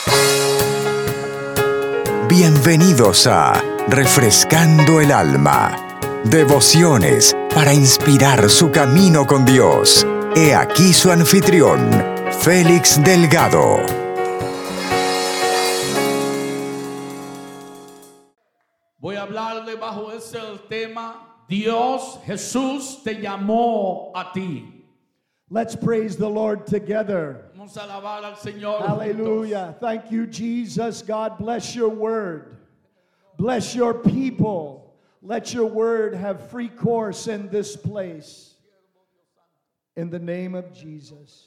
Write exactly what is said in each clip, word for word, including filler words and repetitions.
Bienvenidos a Refrescando el Alma. Devociones para inspirar su camino con Dios. He aquí su anfitrión, Félix Delgado. Voy a hablarle bajo ese el tema: Dios, Jesús te llamó a ti. Let's praise the Lord together. Vamos a alabar al Señor. Hallelujah. Thank you, Jesus. God bless your word. Bless your people. Let your word have free course in this place. In the name of Jesus.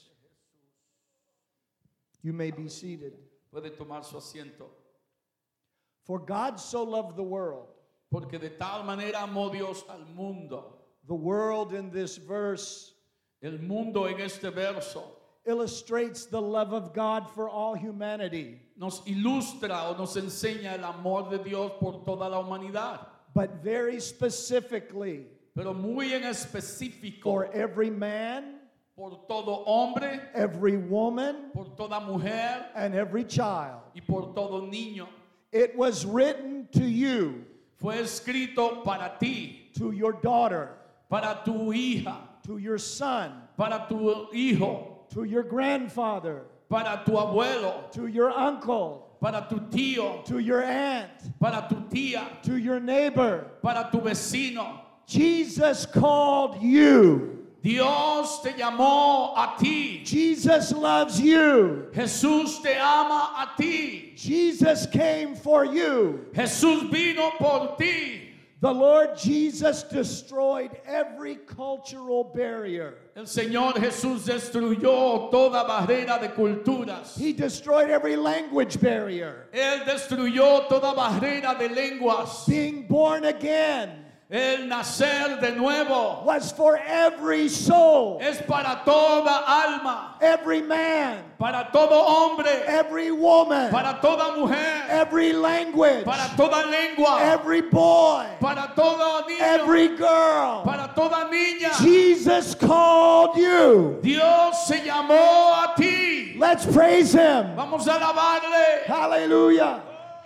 You may be seated. Puede tomar su asiento. For God so loved the world. Porque de tal manera amó Dios al mundo. The world in this verse El mundo en este verso illustrates the love of God for all humanity. nos ilustra o nos enseña el amor de Dios por toda la humanidad. But very specifically, Pero muy en específico, for every man, por todo hombre, every woman, por toda mujer and every child. y por todo niño. It was written to you, Fue escrito para ti, to your daughter, para tu hija, to your son, para tu hijo, to your grandfather, para tu abuelo, to your uncle, para tu tío, to your aunt, para tu tía, to your neighbor. para tu vecino. Jesus called you. Dios te llamó a ti. Jesus loves you. Jesús te ama a ti. Jesus came for you. Jesús vino por ti. The Lord Jesus destroyed every cultural barrier. El Señor Jesús destruyó toda barrera de culturas. He destroyed every language barrier. Él destruyó toda barrera de lenguas. Being born again El nacer de nuevo was for every soul, es para toda alma, every man, para todo hombre, every woman, para toda mujer, every language, para toda lengua, every boy, para todo niño, every girl. para toda niña. Jesus called you. Dios se llamó a ti. Let's praise him. Vamos a alabarle. Hallelujah.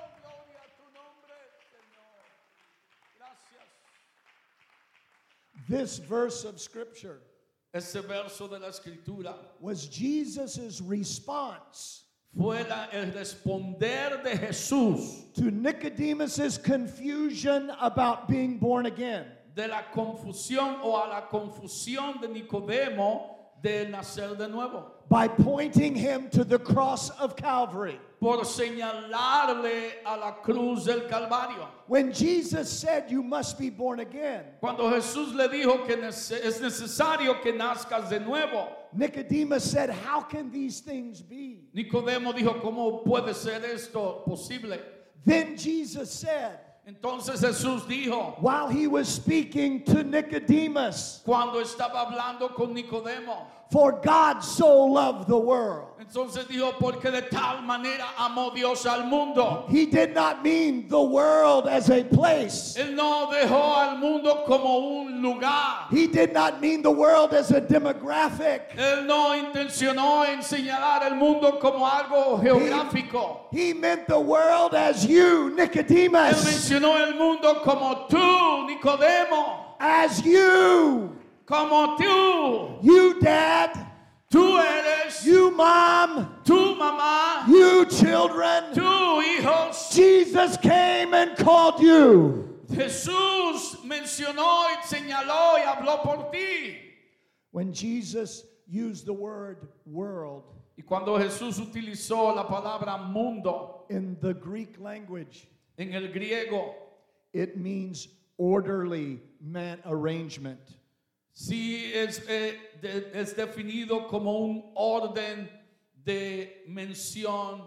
This verse of scripture Ese verso de la escritura was Jesus' response fue la- el responder de Jesús to Nicodemus' confusion about being born again. de la confusión o a la confusión de Nicodemo de nacer de nuevo, By pointing him to the cross of Calvary. por señalarle a la cruz del Calvario. When Jesus said you must be born again, Cuando Jesús le dijo que nece- es necesario que nazcas de nuevo, Nicodemus said, how can these things be? Nicodemo dijo, ¿cómo puede ser esto posible? Then Jesus said, Entonces Jesús dijo, while he was speaking to Nicodemus, cuando estaba hablando con Nicodemo, for God so loved the world. entonces dijo, porque de tal manera amó Dios al mundo. He did not mean the world as a place. Él no dejó al mundo como un lugar. He did not mean the world as a demographic. Él no intencionó en señalar el mundo como algo geográfico. He meant the world as you, Él Nicodemus. mencionó el mundo como tú, Nicodemo, As you. como tú. You, Dad. Tú eres, You, Mom. tú mamá, You, children. tú hijos. Jesus came and called you. Jesús mencionó y señaló y habló por ti. When Jesus used the word world Y cuando Jesús utilizó la palabra mundo in the Greek language, en el griego, it means orderly man arrangement. sí es, eh, de- es definido como un orden de mención,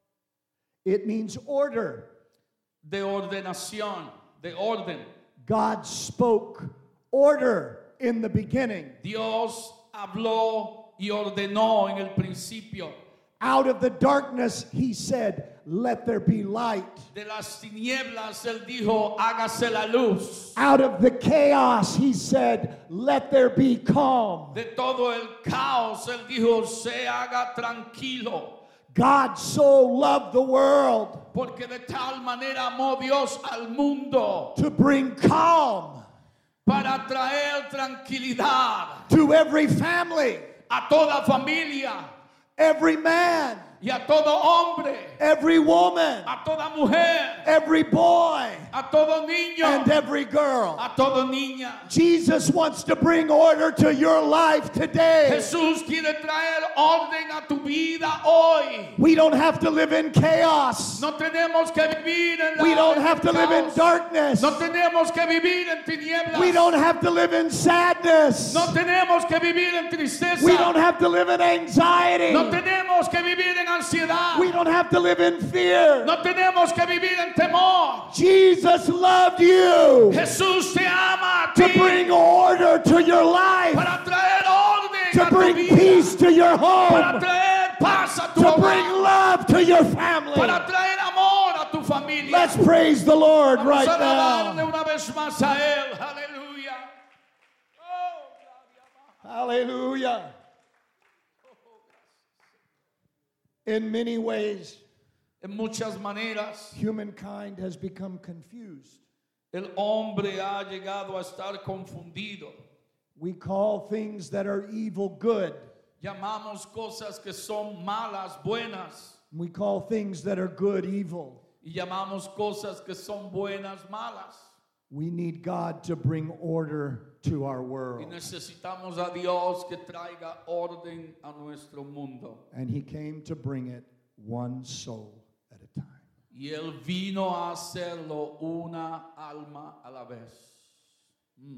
It means order. de ordenación, de orden. God spoke order in the beginning. Dios habló y ordenó en el principio. Out of the darkness, he said, let there be light. De las tinieblas él dijo, hágase la luz. Out of the chaos, he said, let there be calm. De todo el caos él dijo, se haga tranquilo. God so loved the world Porque de tal manera amó Dios al mundo to bring calm para traer tranquilidad to every family, a toda familia every man, y a todo hombre, every woman, a toda mujer, every boy, a todo niño, and every girl. a toda niña. Jesus wants to bring order to your life today. Jesús quiere traer orden a tu vida hoy. We don't have to live in chaos. No tenemos que vivir en la We don't en have to live in caos. darkness. No tenemos que vivir en tinieblas. We don't have to live in sadness. No tenemos que vivir en tristeza. We don't have to live in anxiety. No tenemos que vivir en ansiedad. We don't have to live in fear. No tenemos que vivir en temor. Jesus loved you Jesús te ama a to ti bring order to your life, para traer orden to a tu bring vida, peace to your para home, traer paz a tu to bring hogar, love to your family. para traer amor a tu familia. Let's praise the Lord Vamos right a alabarle now. una vez más a Él. Aleluya. Oh, Hallelujah. In many ways, en muchas maneras, humankind has become confused. el hombre ha llegado a estar confundido. We call things that are evil good. Llamamos cosas que son malas buenas We call things that are good evil. y llamamos cosas que son buenas malas. We need God to bring order to our Y world. necesitamos a Dios que traiga orden a nuestro mundo. And He came to bring it one soul at a time. Y Él vino a hacerlo una alma a la vez. Mm.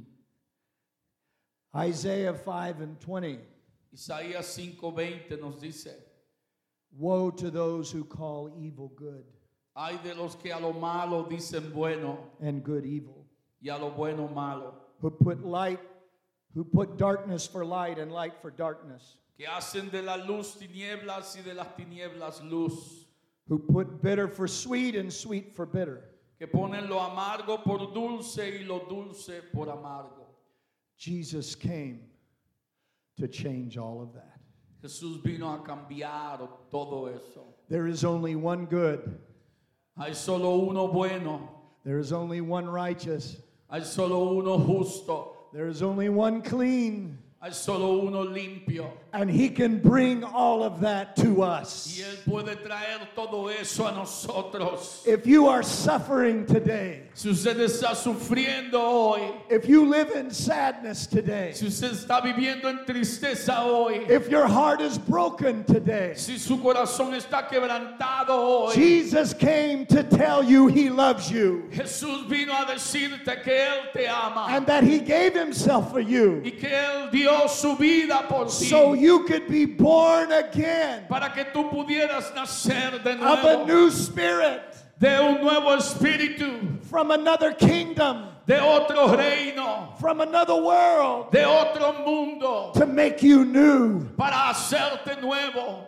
Isaiah five and twenty. Isaías cinco veinte nos dice: Woe to those who call evil good hay de los que a lo malo dicen bueno and good evil, y a lo bueno malo, who put light, who put darkness for light and light for darkness, que hacen de la luz tinieblas y de las tinieblas luz, who put bitter for sweet and sweet for bitter. que ponen lo amargo por dulce y lo dulce por amargo. Jesus came to change all of that. Jesús vino a cambiar todo eso. There is only one good. Hay solo uno bueno, There is only one righteous. hay solo uno justo, There is only one clean. hay solo uno limpio. And He can bring all of that to Y us. Él puede traer todo eso a nosotros. If you are suffering today, Si usted está sufriendo hoy, if you live in sadness today, si usted está viviendo en tristeza hoy, if your heart is broken today, si su corazón está quebrantado hoy, Jesus came to tell you He loves you Jesús vino a decirte que Él te ama and that He gave Himself for you y que Él dio su vida por ti so you could be born again para que tú pudieras nacer de of a nuevo, new spirit de un nuevo espíritu, from another kingdom, de otro reino, from another world, de otro mundo, to make you new. para hacerte nuevo.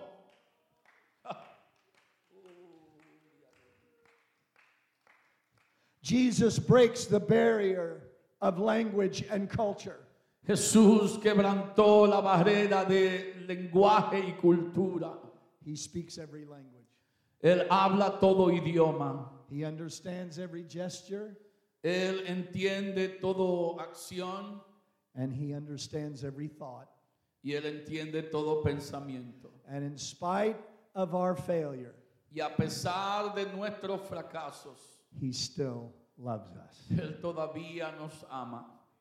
Jesus breaks the barrier of language and culture. Jesús quebrantó la barrera de lenguaje y cultura. He speaks every language. Él habla todo idioma. He understands every gesture, Él entiende toda acción and He understands every thought. y Él entiende todo pensamiento. And in spite of our failure, Y a pesar de nuestros fracasos, He still loves us. Él todavía nos ama.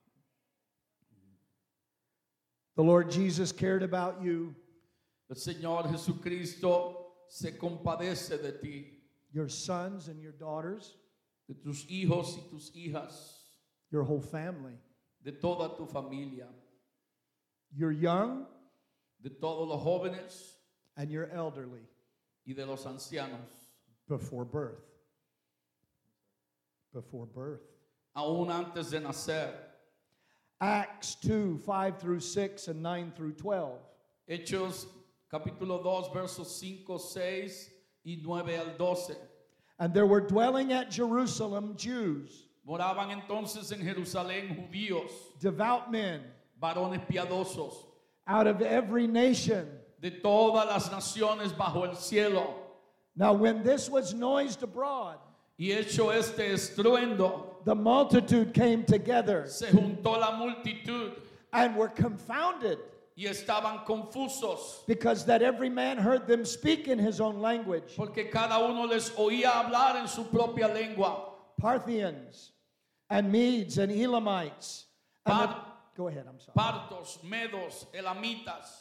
The Lord Jesus cared about you, El Señor Jesucristo se compadece de ti, your sons and your daughters, de tus hijos y tus hijas, your whole family. de toda tu familia, You're young de todos los jóvenes and you're elderly y de los ancianos, before birth. Before birth. aún antes de nacer. Acts two, five through six and nine through twelve. Hechos capítulo dos, versos cinco, seis y nueve al doce. And there were dwelling at Jerusalem Jews, Moraban entonces en Jerusalén judíos, devout men, varones piadosos, out of every nation de todas las naciones bajo el cielo. Now, when this was noised abroad, Y hecho este estruendo, the multitude came together se juntó la multitud and were confounded, y estaban confusos, because that every man heard them speak in his own language. porque cada uno les oía hablar en su propia lengua. Parthians and Medes and Elamites. And the- Par- go ahead, I'm sorry. Partos, medos, elamitas,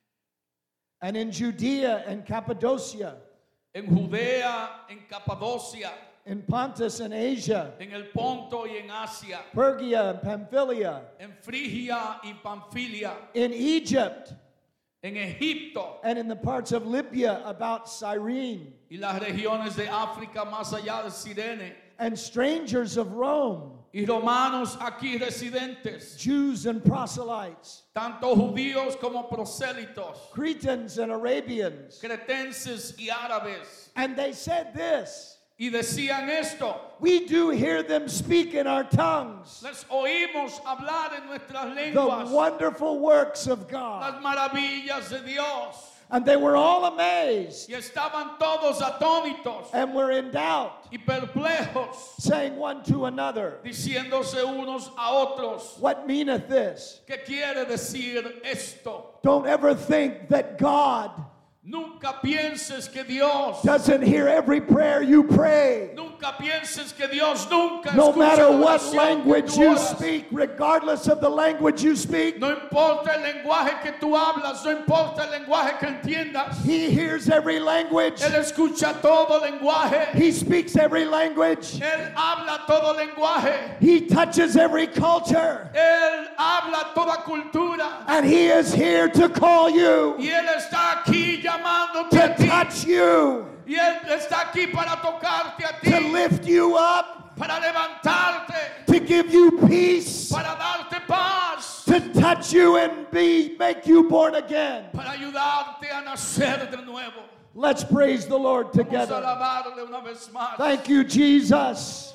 And in Judea and Cappadocia, en Judea, en Capadocia, in Pontus and Asia, en el Ponto y en Asia, Pergia and Pamphylia, en Frigia y Panfilia, in Egypt, en Egipto and in the parts of Libya about Cyrene, y las regiones de África más allá de Cirene, and strangers of Rome, y romanos aquí residentes, Jews and proselytes, tanto judíos como prosélitos, Cretans and Arabians. cretenses y árabes. And they said this, Y decían esto: we do hear them speak in our tongues les oímos hablar en nuestras the lenguas wonderful works of las God. maravillas de Dios. And they were all amazed Y estaban todos atónitos and were in doubt, y perplejos, saying one to another, diciéndose unos a otros: what meaneth this? ¿qué quiere decir esto? Don't ever think that God Nunca pienses que Dios, doesn't hear every prayer you pray. nunca pienses que Dios nunca No escucha matter la what oración que language tú you oras. speak, regardless of the language you speak, No importa el lenguaje que tú hablas, no importa el lenguaje que entiendas. He hears every language. Él escucha todo lenguaje. He speaks every language. Él habla todo lenguaje. He touches every culture. Él habla toda cultura. And He is here to call you, Y Él está aquí llamándote to a ti. touch you, Y Él está aquí para tocarte a to ti, lift you up, para levantarte, to give you peace, para darte paz, to touch you and be make you born again. para ayudarte a nacer de nuevo. Let's praise the Lord Vamos a together. alabarle una vez más. Thank you, Jesus.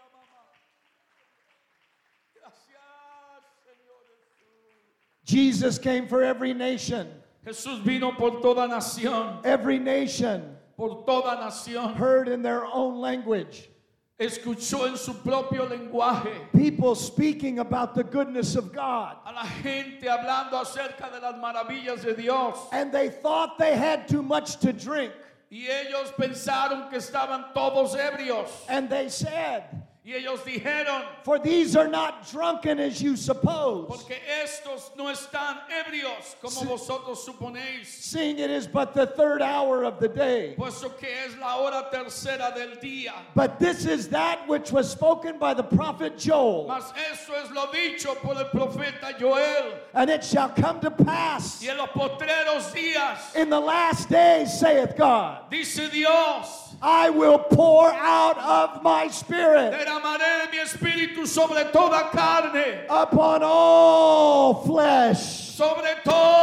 Gracias, Señor Jesús. Jesus came for every nation. Jesús vino por toda nación, Every nation por toda nación. heard in their own language Escuchó en su propio lenguaje people speaking about the goodness of God. a la gente hablando acerca de las maravillas de Dios. And they thought they had too much to drink. Y ellos pensaron que estaban todos ebrios. And they said, Y ellos dijeron: for these are not drunken as you suppose, porque estos no están ebrios como vosotros suponéis, seeing it is but the third hour of the day. puesto que es la hora tercera del día. But this is that which was spoken by the prophet Joel. Mas eso es lo dicho por el profeta Joel. And it shall come to pass Y en los postreros días, in the last days, saith God, dice Dios, I will pour out of my spirit derramaré mi espíritu sobre toda carne, upon all flesh, sobre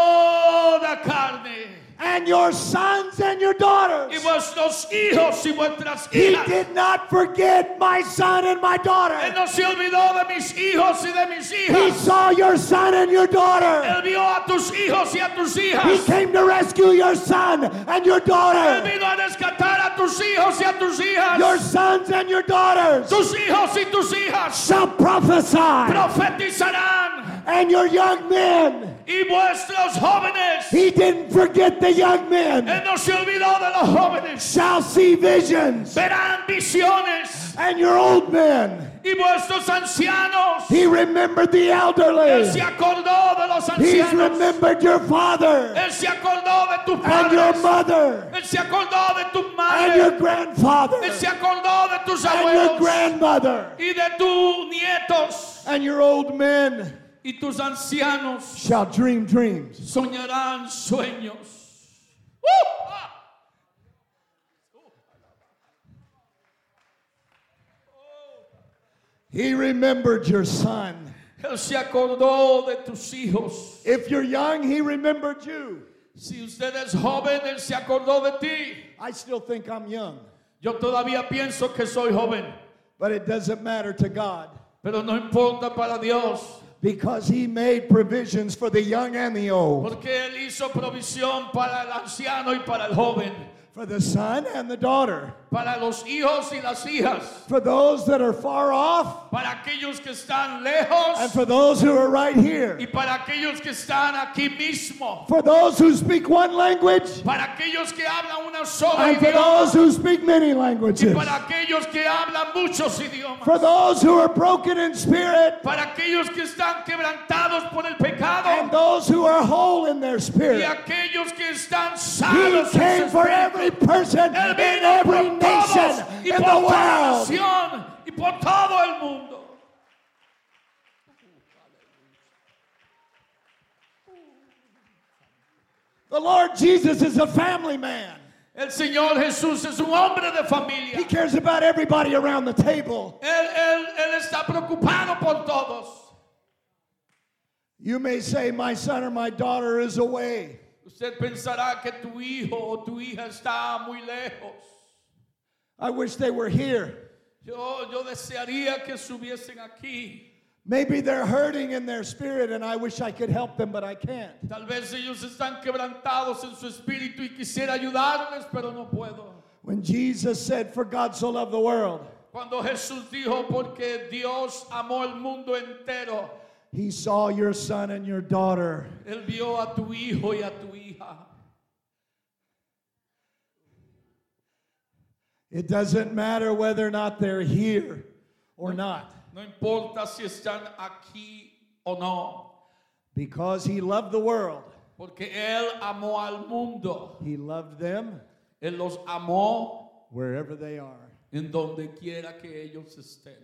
toda carne. and your sons and your daughters. Y vuestros hijos y vuestras He hijas. did not forget my son and my Él daughter. no se olvidó de mis hijos y de mis He hijas. saw your son and your daughter. Él vio a tus hijos y a tus He hijas. came to rescue your son and your Él daughter. vino a rescatar a tus hijos y a tus hijas. Your sons and your daughters Tus hijos y tus hijas shall prophesy, profetizarán. and your young men. Y vuestros jóvenes, He didn't forget the young men. Él no se olvidó de los jóvenes, Shall see visions, verán visiones. and your old men. Y vuestros ancianos, He remembered the Él elderly. se acordó de los He's ancianos. remembered your father Él se acordó de tus and your padres. mother Él se acordó de tu and your madre. grandfather Él se acordó de tus and your abuelos grandmother, y de tus nietos. and your old men Y tus ancianos shall dream dreams. soñarán sueños. ¡Uh! ¡Ah! He remembered your son. Él se acordó de tus hijos. If you're young, he remembered you. Si usted es joven, Él se acordó de ti. I still think I'm young, Yo todavía pienso que soy joven, but it doesn't matter to God. pero no importa para Dios. Because he made provisions for the young and the old, Porque Él hizo provisión para el anciano y para el joven, for the son and the daughter, para los hijos y las hijas, for those that are far off, para aquellos que están and lejos for those who are right here, y para aquellos que están aquí mismo, for those who speak one language, para aquellos que hablan una sola and for idioma those who speak many y languages, para aquellos que hablan muchos idiomas, for those who are broken in spirit, para aquellos que están quebrantados por el pecado and those who are whole in their y spirit. aquellos que están He sanos en came su for espíritu. every person Él in vino every por todos nation y in por the toda world. nación y por todo el mundo. The Lord Jesus is a family man. El Señor Jesús es un hombre de He familia. cares about everybody around the table. Él, él, él está preocupado por todos. You may say, my son or my daughter is away. Usted pensará que tu hijo o tu hija está muy lejos. I wish they were here. Yo, yo desearía que estuviesen aquí. Maybe they're hurting in their spirit and I wish I could help them, but I can't. Tal vez ellos están quebrantados en su espíritu y quisiera ayudarles, pero no puedo. When Jesus said, for God so loved the world, Cuando Jesús dijo, porque Dios amó el mundo entero, he saw your son and your daughter. Él vio a tu hijo y a tu hija. It doesn't matter whether or not they're here or not. No importa si están aquí o no, Because he loved the world, porque Él amó al mundo. he loved them Él los amó wherever they are. en donde quiera que ellos estén.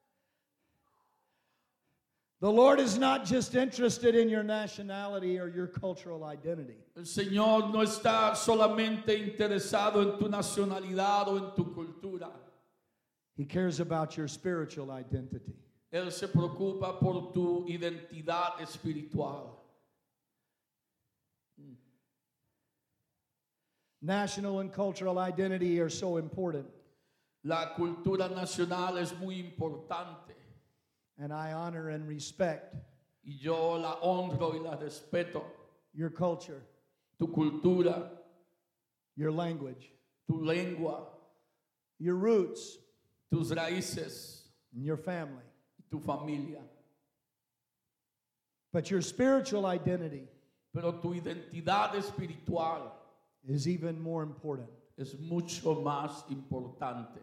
The Lord is not just interested in your nationality or your cultural identity. El Señor no está solamente interesado en tu nacionalidad o en tu cultura. He cares about your spiritual identity. Él se preocupa por tu identidad espiritual. National and cultural identity are so important, La cultura nacional es muy importante and I honor and respect y yo la honro y la respeto. your culture, Tu cultura, your language, tu lengua, your roots, tus raíces and your family. y tu familia. But your spiritual identity Pero tu identidad espiritual is even more important es mucho más importante.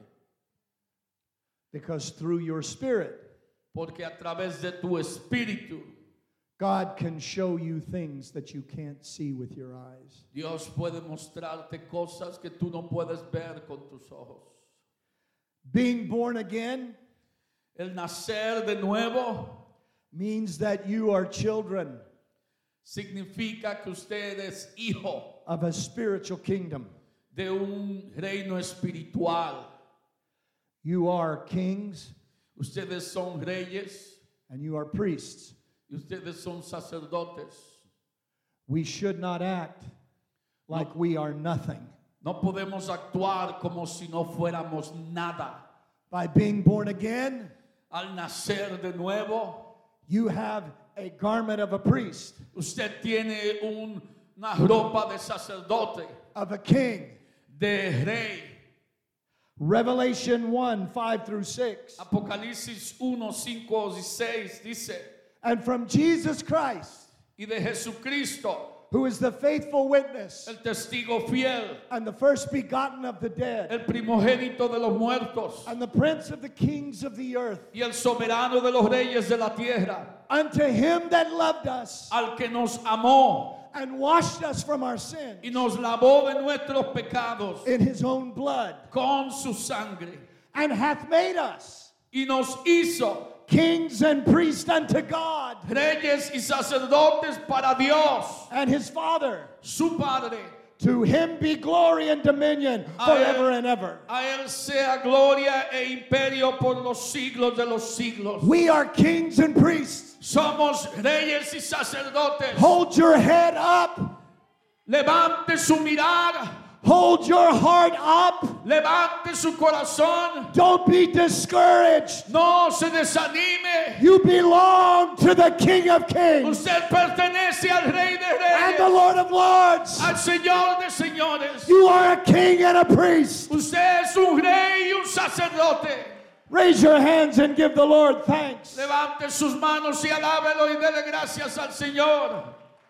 because through your spirit, Porque a través de tu espíritu, God can show you things that you can't see with your eyes. Dios puede mostrarte cosas que tú no puedes ver con tus ojos. Being born again El nacer de nuevo means that you are children significa que usted es hijo of a spiritual kingdom. de un reino espiritual. You are kings Ustedes son reyes and you are priests. y ustedes son sacerdotes. We should not act like we are nothing. No podemos actuar como si no fuéramos nada. By being born again, Al nacer de nuevo, you have a garment of a priest, usted tiene un- una ropa de sacerdote, of a king. de rey. Revelation one, five through six. Apocalipsis uno, cinco y seis dice, And from Jesus Christ, y de Jesucristo, who is the faithful witness el testigo fiel, and the first begotten of the dead, el primogénito de los muertos and the prince of the kings of the earth, y el soberano de los reyes de la tierra, unto him that loved us al que nos amó and washed us from our sins y nos lavó de nuestros pecados in his own blood, con su sangre and hath made us y nos hizo kings and priests unto God reyes y sacerdotes para Dios, and his Father. su Padre. To him be glory and dominion forever and ever. A él sea gloria e imperio por los siglos de los siglos. We are kings and priests. Somos reyes y sacerdotes. Hold your head up. Levante su mirada. Hold your heart up. Levante su corazón. Don't be discouraged. No se desanime. You belong to the King of Kings Usted pertenece al Rey de and the Reyes, Lord of Lords. al Señor de Señores. You are a king and a priest. Usted es un rey y un sacerdote. Raise your hands and give the Lord thanks. Levante sus manos y alábelo y dele gracias al Señor.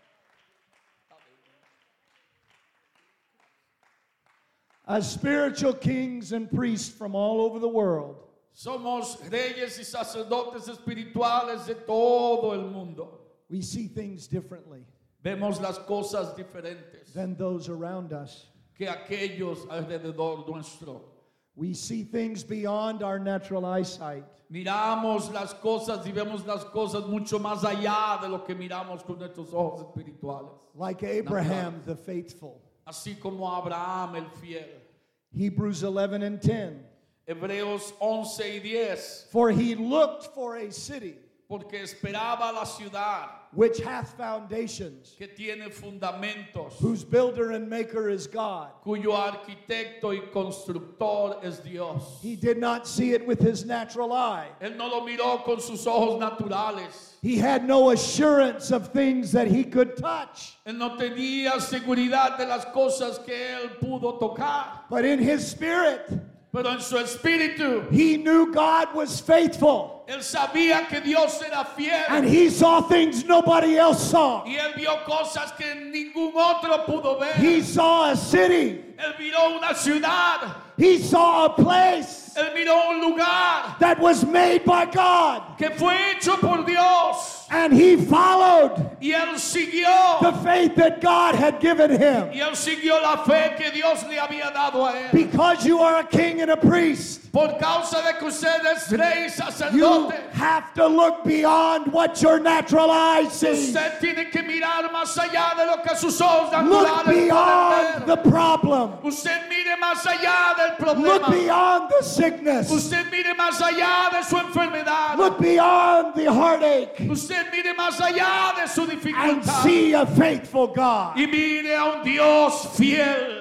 As spiritual kings and priests from all over the world, Somos reyes y sacerdotes espirituales de todo el mundo. we see things differently Vemos las cosas diferentes than those around us. que aquellos alrededor nuestro. We see things beyond our natural eyesight. Miramos las cosas y vemos las cosas mucho más allá de lo que miramos con nuestros ojos espirituales. Like Abraham the faithful. Así como Abraham el fiel. Hebrews eleven and ten. Hebreos once y diez. For he looked for a city Porque esperaba la ciudad which hath foundations, que tiene fundamentos, whose builder and maker is God. cuyo arquitecto y constructor es Dios. He did not see it with his natural eye. Él no lo miró con sus ojos naturales. He had no assurance of things that he could touch. Él no tenía seguridad de las cosas que él pudo tocar. But in his spirit, Pero en su espíritu, he knew God was faithful. él sabía que Dios era fiel. And he saw things nobody else saw. Y él vio cosas que ningún otro pudo ver. He saw a city. Él miró una ciudad. He saw a place Él miró un lugar that was made by God. que fue hecho por Dios. And he followed Y él siguió. the faith that God had given him. Y él siguió la fe que Dios le había dado a él. Because you are a king and a priest, Por causa de que usted es rey y you sacerdote, have to look beyond what your natural eyes see. usted tiene que mirar más allá de lo que sus ojos Look naturales pueden beyond the ver. problem. Usted mire más allá del Look problema. beyond the sickness. Usted mire más allá de su enfermedad. Look beyond the heartache Usted mire más allá de su and dificultad. see a faithful God. Y mire a un Dios fiel.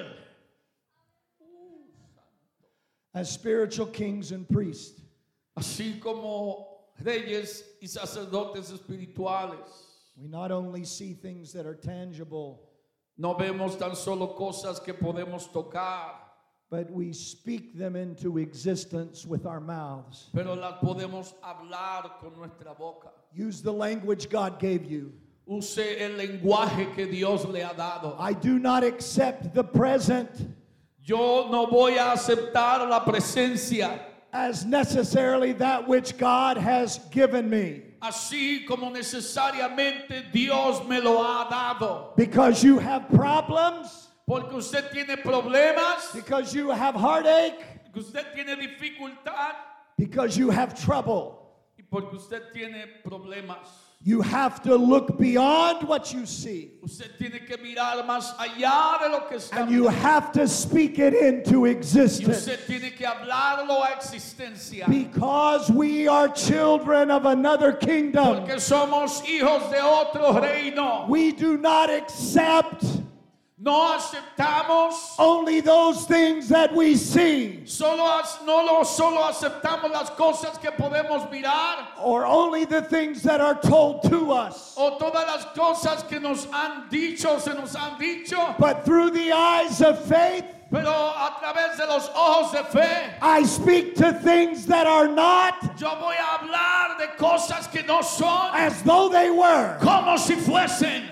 As spiritual kings and priests, Así como reyes y sacerdotes espirituales. we not only see things that are tangible, No vemos tan solo cosas que podemos tocar, but we speak them into existence with our mouths. pero las podemos hablar con nuestra boca. Use the language God gave you. Use el lenguaje que Dios le ha dado. I do not accept the present Yo no voy a aceptar la presencia as necessarily that which God has given me. así como necesariamente Dios me lo ha dado. Because you have problems, Porque usted tiene problemas, because you have heartache, que usted tiene dificultad because you have trouble. y porque usted tiene problemas. You have to look beyond what you see. Usted tiene que mirar más allá de lo que está And you viendo. have to speak it into Y existence. usted tiene que hablarlo a existencia. Because we are children of another kingdom. Porque somos hijos de otro reino. We do not accept No aceptamos, only those things that we see, solo, as- no lo, solo aceptamos las cosas que podemos mirar or only the things that are told to us. o todas las cosas que nos han dicho, se nos han dicho, But through the eyes of faith, pero a través de los ojos de fe, I speak to things that are not yo voy a hablar de cosas que no son as though they were. como si fuesen.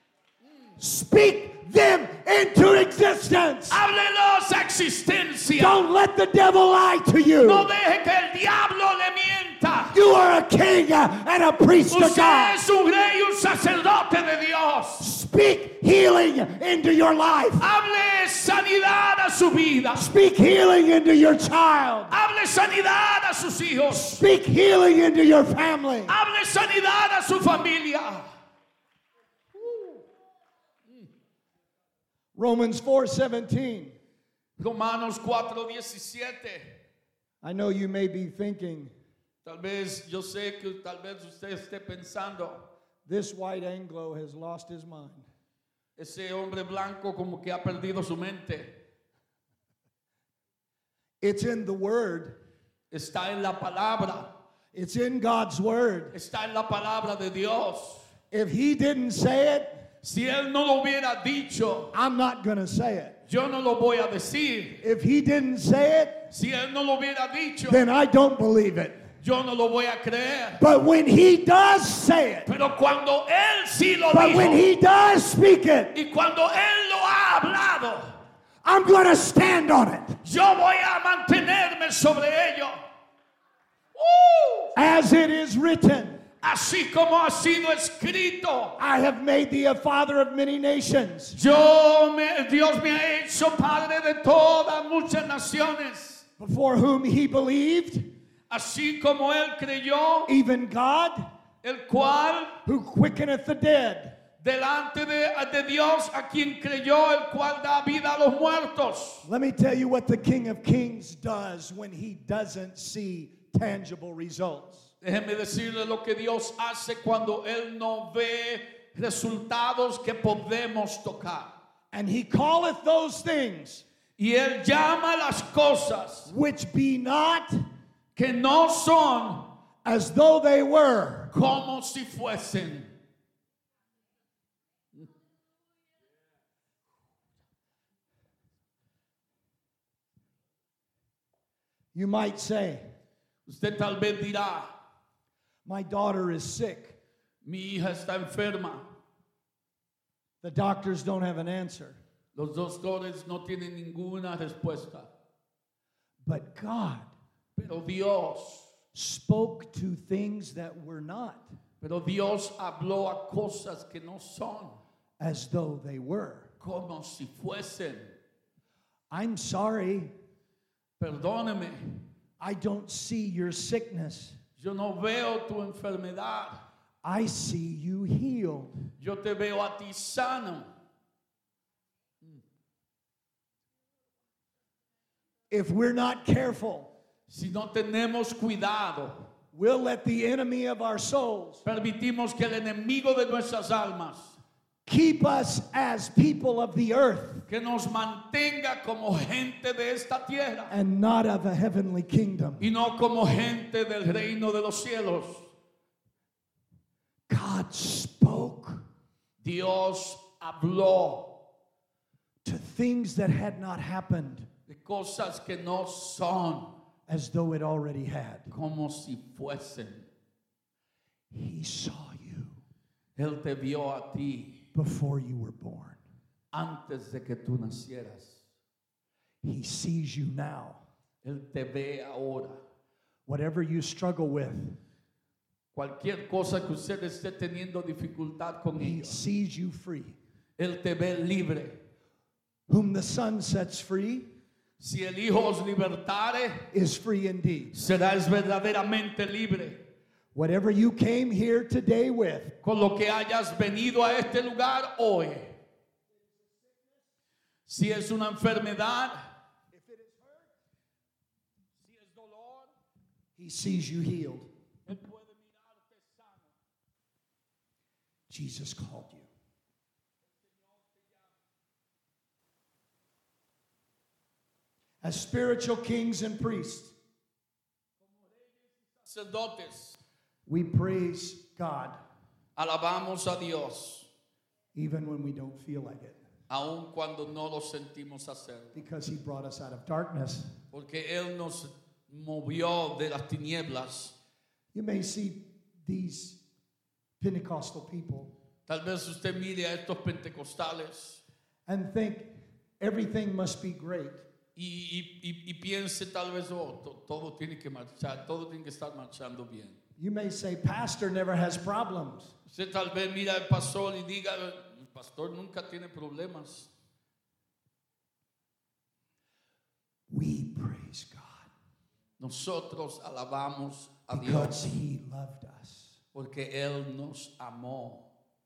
Speak them into existence. Háblelos a existencia. Don't let the devil lie to you. No deje que el diablo le mienta. You are a king and a priest of Usted God. es un rey y un sacerdote de Dios. Speak healing into your life. Hable sanidad a su vida. Speak healing into your child. Hable sanidad a sus hijos. Speak healing into your family. Hable sanidad a su familia. Romans four seventeen. Romanos cuatro diecisiete. I know you may be thinking, Tal vez yo sé que tal vez usted esté pensando, this white Anglo has lost his mind. ese hombre blanco como que ha perdido su mente. It's in the Word. Está en la palabra. It's in God's Word. Está en la palabra de Dios. If He didn't say it, Si Él no lo hubiera dicho, I'm not going to say it. yo no lo voy a decir. If He didn't say it, Si Él no lo hubiera dicho, then I don't believe it. yo no lo voy a creer. But when He does say it, Pero cuando Él sí lo but when dijo, He does speak it, y cuando Él lo ha hablado, I'm going to stand on it. yo voy a mantenerme sobre ello. ¡Uh! As it is written, Así como ha sido escrito. I have made thee a father of many nations. Yo me, Dios me ha hecho padre de todas muchas naciones. Before whom He believed, Así como Él creyó, even God, el cual who quickeneth the dead, delante de, de Dios a quien creyó, el cual da vida a los muertos. Let me tell you what the King of Kings does when He doesn't see tangible results. Déjeme decirle lo que Dios hace cuando Él no ve resultados que podemos tocar. And He calleth those things Y Él llama las cosas which be not que no son as though they were. como si fuesen. You might say, Usted tal vez dirá, my daughter is sick. mi hija está enferma. The doctors don't have an answer. Los doctores no tienen ninguna respuesta. But God Pero Dios, spoke to things that were not pero Dios habló a cosas que no son as though they were. como si fuesen. I'm sorry, Perdóneme, I don't see your sickness. yo no veo tu enfermedad. I see you healed. Yo te veo a ti sano. If we're not careful, Si no tenemos cuidado, we'll let the enemy of our souls permitimos que el enemigo de nuestras almas keep us as people of the earth que nos mantenga como gente de esta tierra and not of a heavenly kingdom. y no como gente del reino de los cielos. God spoke Dios habló to things that had not happened de cosas que no son as though it already had. como si fuesen. He saw you Él te vio a ti before you were born. antes de que tú nacieras. He sees you now. Él te ve ahora. Whatever you struggle with, Cualquier cosa que usted esté teniendo dificultad con He ello, sees you free. Él te ve libre. Whom the Son sets free Si el Hijo os libertare, is free indeed. serás verdaderamente libre. Whatever you came here today with, Con lo que hayas venido a este lugar hoy. Si es una enfermedad, si es dolor, He sees you healed. Él puede mirarte sano. Jesus called you. As spiritual kings and priests, Sacerdotes, we praise God alabamos a Dios, even when we don't feel like it, aun cuando no lo sentimos hacer. because He brought us out of darkness. Porque Él nos movió de las tinieblas. You may see these Pentecostal people Tal vez usted mire a estos pentecostales and think everything must be great. y, y, y, y piense tal vez, oh, to- todo tiene que marchar, todo tiene que estar marchando bien. You may say, Pastor never has problems. Usted tal vez mira al pastor y diga, el pastor nunca tiene problemas. We praise God Nosotros alabamos a because Dios He loved us. porque Él nos amó.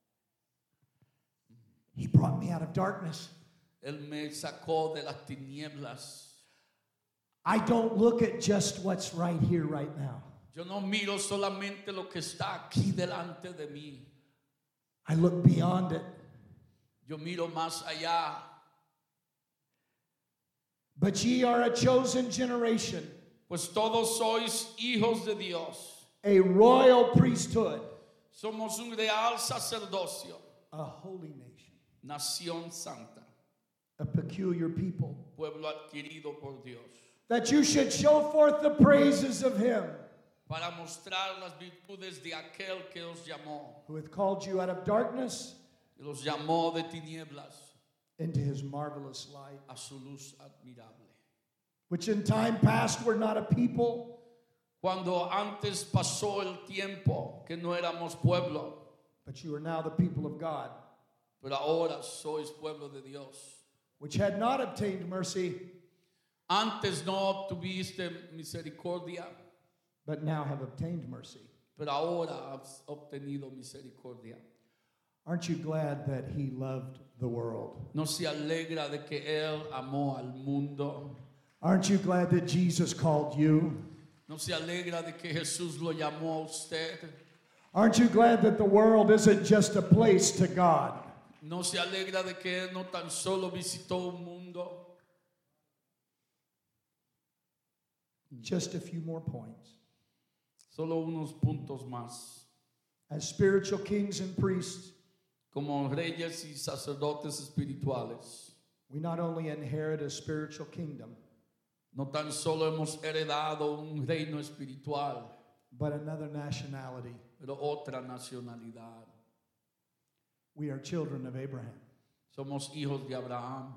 He brought me out of darkness. Él me sacó de las tinieblas. I don't look at just what's right here, right now. Yo no miro solamente lo que está aquí delante de mí. I look beyond it Yo miro más allá But ye are a chosen generation, Pues todos sois hijos de Dios. a royal priesthood, Somos un real sacerdocio, a holy nation, nación santa, a peculiar people, pueblo adquirido por Dios, that you should show forth the praises of him para mostrar las virtudes de aquel que os llamó, who hath called you out of darkness que los llamó de tinieblas into his marvelous light, a su luz admirable. which in time past were not a people, Cuando antes pasó el tiempo que no éramos pueblo, but you are now the people of God, pero ahora sois pueblo de Dios. which had not obtained mercy, Antes no tuviste misericordia, but now have obtained mercy. pero ahora has obtenido misericordia. Aren't you glad that he loved the world? ¿No se alegra de que Él amó al mundo? Aren't you glad that Jesus called you? ¿No se alegra de que Jesús lo llamó a usted? Aren't you glad that the world isn't just a place to God? ¿No se alegra de que Él no tan solo visitó un mundo? Just a few more points. Solo unos puntos más. As spiritual kings and priests, Como reyes y sacerdotes espirituales, we not only inherit a spiritual kingdom, no tan solo hemos heredado un reino espiritual, but another nationality. pero otra nacionalidad. We are children of Abraham. Somos hijos de Abraham.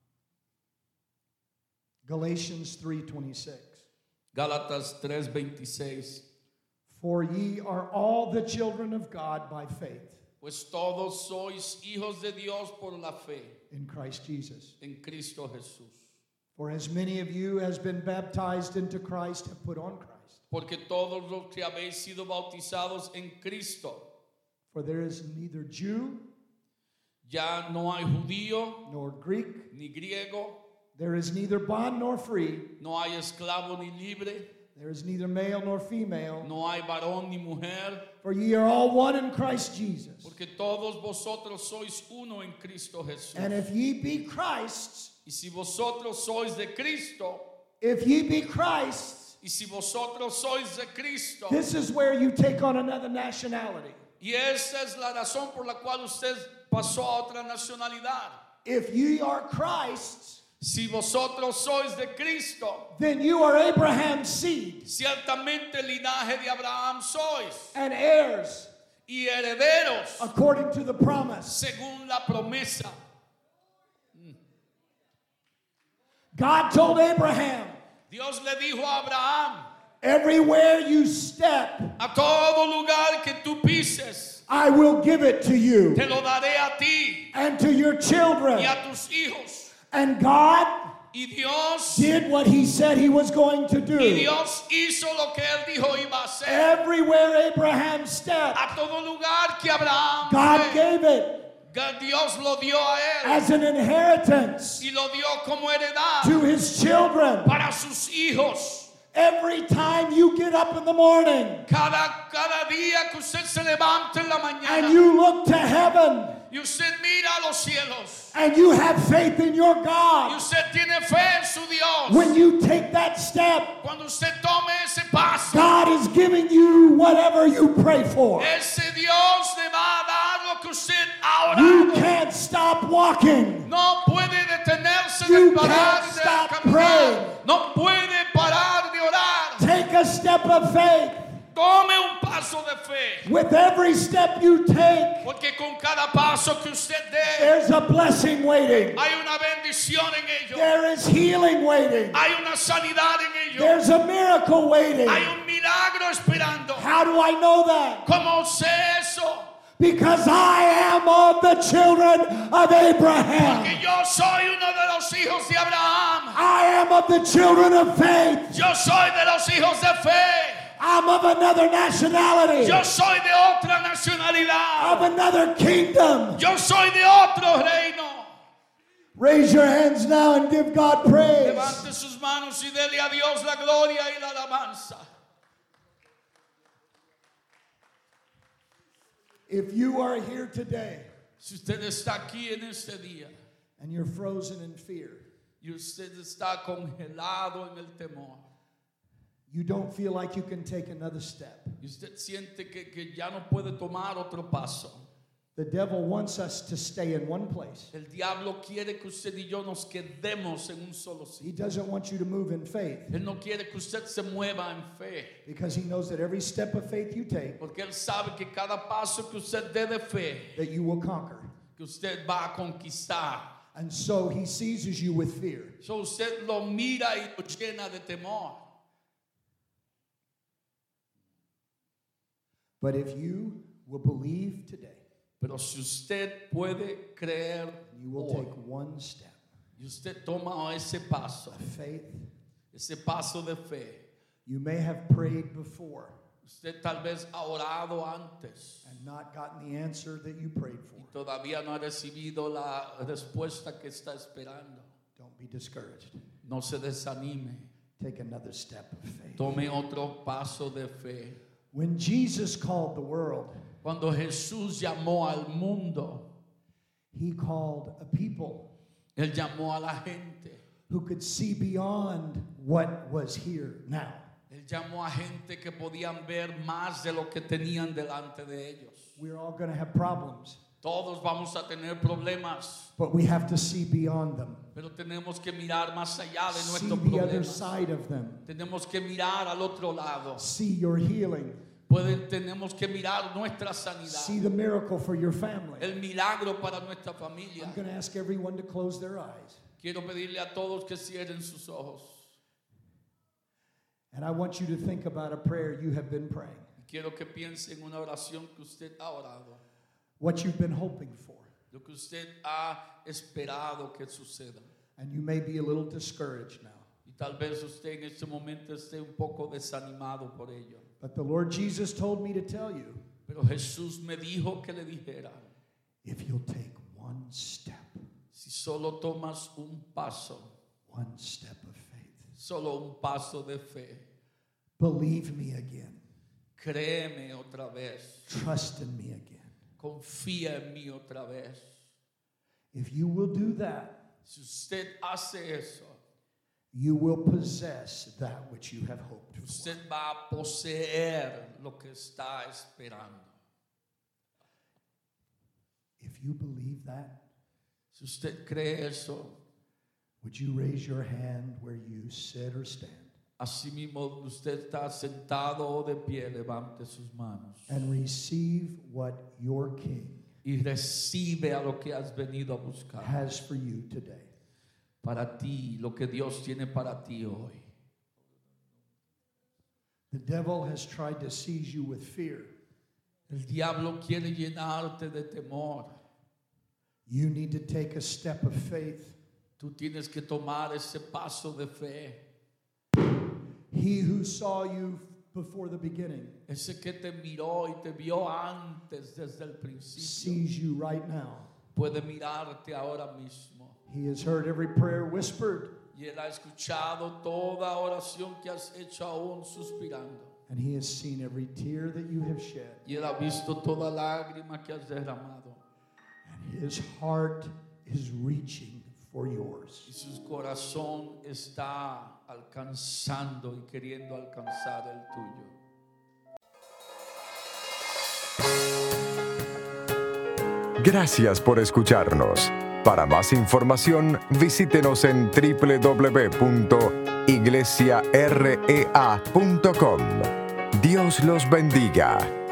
Galatians three twenty-six. Gálatas tres veintiséis. For ye are all the children of God by faith Pues todos sois hijos de Dios por la fe in Christ Jesus. en Cristo Jesús. For as many of you as been baptized into Christ have put on Christ. Porque todos los que habéis sido bautizados en Cristo, For there is neither Jew ya no hay judío nor Greek, ni griego, there is neither bond nor free, no hay esclavo ni libre, there is neither male nor female, no hay varón ni mujer, for ye are all one in Christ Jesus. porque todos vosotros sois uno en Cristo Jesús. And if ye be Christ's, Y si vosotros sois de Cristo, if ye be Christ's, y si vosotros sois de Cristo, this is where you take on another nationality. y esa es la razón por la cual usted pasó a otra nacionalidad. If ye are Christ's, Si vosotros sois de Cristo, then you are Abraham's seed ciertamente linaje de Abraham sois, and heirs y herederos according to the promise. según la promesa. God told Abraham, Dios le dijo a Abraham, everywhere you step, a todo lugar que tú pises, I will give it to you te lo daré a ti and to your children. y a tus hijos. And God Y Dios, did what he said he was going to y do. Dios hizo lo que él dijo iba a hacer. Everywhere Abraham stepped, A todo lugar que Abraham God fue, gave it Dios lo dio a él as an inheritance y lo dio como heredad to his children. para sus hijos. Every time you get up in the morning Cada, cada día que usted se levanta en la and mañana you look to heaven y usted mira a los cielos and you have faith in your y God, usted tiene fe en su Dios, when you take that step, cuando usted tome ese paso, God is giving you whatever you pray for. ese Dios le va a dar lo que usted ha You orado. can't stop walking. No puede detenerse You de parar can't de stop caminar. praying. No puede parar de orar. Take a step of faith. Tome un paso de fe, With every step you take, porque con cada paso que usted dé, there's a blessing waiting. hay una bendición en ello. There is healing waiting. Hay una sanidad en ello. There's a miracle waiting. Hay un milagro esperando. How do I know that? ¿Cómo sé eso? Because I am of the children of Abraham. Porque yo soy uno de los hijos de Abraham. I am of the children of faith. Yo soy de los hijos de fe. I'm of another nationality, Yo soy de otra nacionalidad. of another kingdom. Yo soy de otro reino. Raise your hands now and give God praise. Levante sus manos y dele a Dios la gloria y la alabanza. If you are here today Si usted está aquí en este día and you're frozen in fear, y usted está congelado en el temor. You don't feel like you can take another step. Y usted siente que, que ya no puede tomar otro paso. The devil wants us to stay in one place. El diablo quiere que usted y yo nos quedemos en un solo He sitio. doesn't want you to move in faith Él no quiere que usted se mueva en fe. because he knows that every step of faith you take, Porque Él sabe que cada paso que usted dé de fe, that you will conquer. que usted va a conquistar. And so he seizes you with fear. So usted lo mira y lo llena de temor. But if you will believe today, Pero si usted puede creer you will hoy, take one step y usted toma ese paso, of faith. ese paso de fe, You may have prayed before usted tal vez ha orado antes and not gotten the answer that you prayed for. y todavía no ha recibido la respuesta que está esperando. Don't be discouraged. No se desanime. Take another step of faith. Tome otro paso de fe. When Jesus called the world, Cuando Jesús llamó al mundo, he called a people Él llamó a la gente. who could see beyond what was here now. Él llamó a gente que podían ver más de lo que tenían delante de ellos. We're all going to have problems, Todos vamos a tener problemas, but we have to see beyond them. pero tenemos que mirar más allá de See nuestros the other problemas. side of them. Tenemos que mirar al otro lado. See your healing. Pueden, tenemos que mirar nuestra sanidad. See the miracle for your family. El milagro para nuestra familia. I'm going to ask everyone to close their eyes. Quiero pedirle a todos que cierren sus ojos. And I want you to think about a prayer you have been praying, Quiero que piense en una oración que usted ha orado. what you've been hoping for. Lo que usted ha esperado que suceda. And you may be a little discouraged now. Y tal vez usted en este momento esté un poco desanimado por ello. But the Lord Jesus told me to tell you, Pero Jesús me dijo que le dijera, if you'll take one step, si solo tomas un paso, one step of faith, solo un paso de fe, believe me again, créeme otra vez, trust in me again. confía en mí otra vez. If you will do that, Si usted hace eso, you will possess that which you have hoped for. usted va a poseer lo que está esperando. If you believe that, Si usted cree eso, would you raise your hand where you sit or stand así mismo usted está sentado o de pie, levante sus manos and receive what your King y recibe a lo que has venido a buscar. has for you today? Para ti, lo que Dios tiene para ti hoy. The devil has tried to seize you with fear. El diablo quiere llenarte de temor. You need to take a step of faith. Tú tienes que tomar ese paso de fe. He who saw you before the beginning Ese que te miró y te vio antes desde el principio sees you right now. puede mirarte ahora mismo. He has heard every prayer whispered, Y Él ha escuchado toda oración que has hecho aún suspirando. and he has seen every tear that you have shed. Y Él ha visto toda lágrima que has derramado. And his heart is reaching for Y yours. su corazón está alcanzando y queriendo alcanzar el tuyo. Gracias por escucharnos. Para más información, visítenos en doble u doble u doble u punto iglesia rea punto com. Dios los bendiga.